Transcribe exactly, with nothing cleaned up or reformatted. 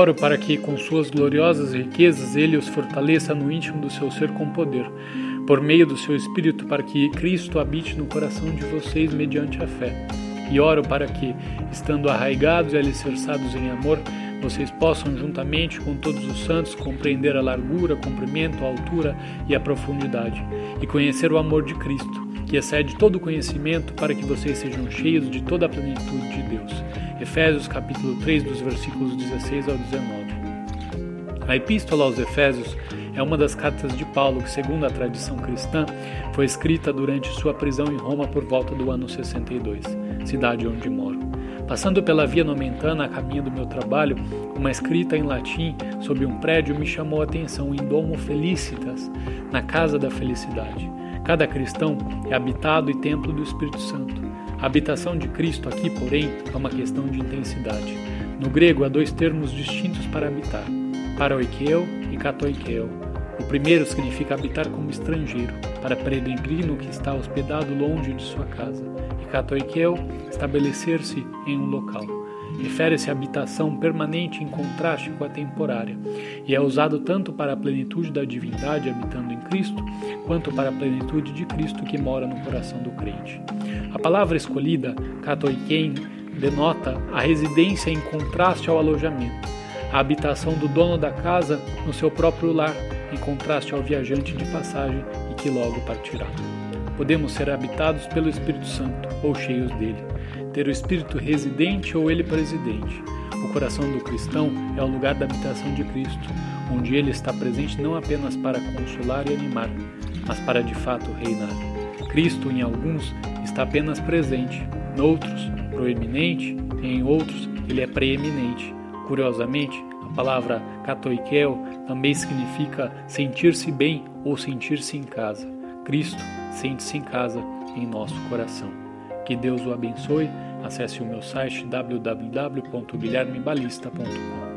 oro para que, com suas gloriosas riquezas, Ele os fortaleça no íntimo do seu ser com poder, por meio do seu Espírito, para que Cristo habite no coração de vocês mediante a fé. E oro para que, estando arraigados e alicerçados em amor, vocês possam, juntamente com todos os santos, compreender a largura, comprimento, a altura e a profundidade, e conhecer o amor de Cristo, que excede todo o conhecimento, para que vocês sejam cheios de toda a plenitude de Deus. Efésios capítulo três, dos versículos dezesseis ao dezenove. A Epístola aos Efésios é uma das cartas de Paulo que, segundo a tradição cristã, foi escrita durante sua prisão em Roma por volta do ano sessenta e dois, cidade onde moro. Passando pela Via Nomentana a caminho do meu trabalho, uma escrita em latim sobre um prédio me chamou a atenção: em Domo Felicitas, na Casa da Felicidade. Cada cristão é habitado e templo do Espírito Santo. A habitação de Cristo aqui, porém, é uma questão de intensidade. No grego há dois termos distintos para habitar: paroikeo e katoikeo. O primeiro significa habitar como estrangeiro, para peregrino que está hospedado longe de sua casa, e katoikeo, estabelecer-se em um local. Refere-se à habitação permanente em contraste com a temporária, e é usado tanto para a plenitude da divindade habitando em Cristo, quanto para a plenitude de Cristo que mora no coração do crente. A palavra escolhida, katoikein, denota a residência em contraste ao alojamento, a habitação do dono da casa no seu próprio lar, em contraste ao viajante de passagem e que logo partirá. Podemos ser habitados pelo Espírito Santo ou cheios dele, ter o Espírito residente ou ele presidente. O coração do cristão é o lugar da habitação de Cristo, onde ele está presente não apenas para consolar e animar, mas para de fato reinar. Cristo, em alguns, está apenas presente, noutros, proeminente, e em outros, ele é preeminente. Curiosamente, a palavra katoikeo também significa sentir-se bem ou sentir-se em casa. Cristo sente-se em casa em nosso coração. Que Deus o abençoe. Acesse o meu site w w w ponto guilherme balista ponto com.